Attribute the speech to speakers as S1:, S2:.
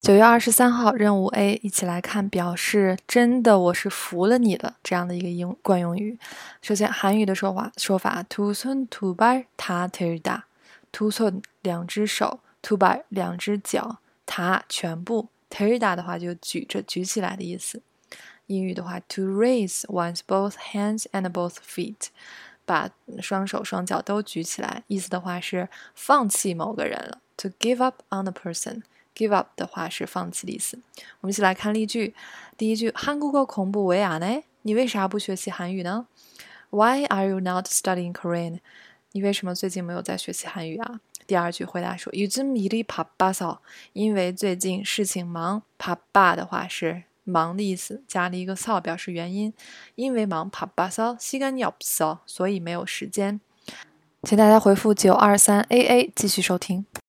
S1: 9月23号任务 A， 一起来看表示真的我是服了你的这样的一个惯用语。首先韩语的说法두 손 두 발 다 들다， 두 손两只手， 두 발两只脚， 다全部， 들다的话就举起来的意思。英语的话 to raise one's both hands and both feet， 把双手双脚都举起来，意思的话是放弃某个人了， to give up on a person。Give up 的话是放弃的意思。我们一起来看例句。第一句，한국어 공부 왜 안 해？ 你为啥不学习韩语呢？ Why are you not studying Korean？ 你为什么最近没有在学习韩语啊？第二句回答说요즘 일이 바빠서， 因为最近事情忙。바빠的话是忙的意思，加了一个서表示原因。因为忙바빠서 시간이 없어， 所以没有时间。请大家回复923AA继续收听。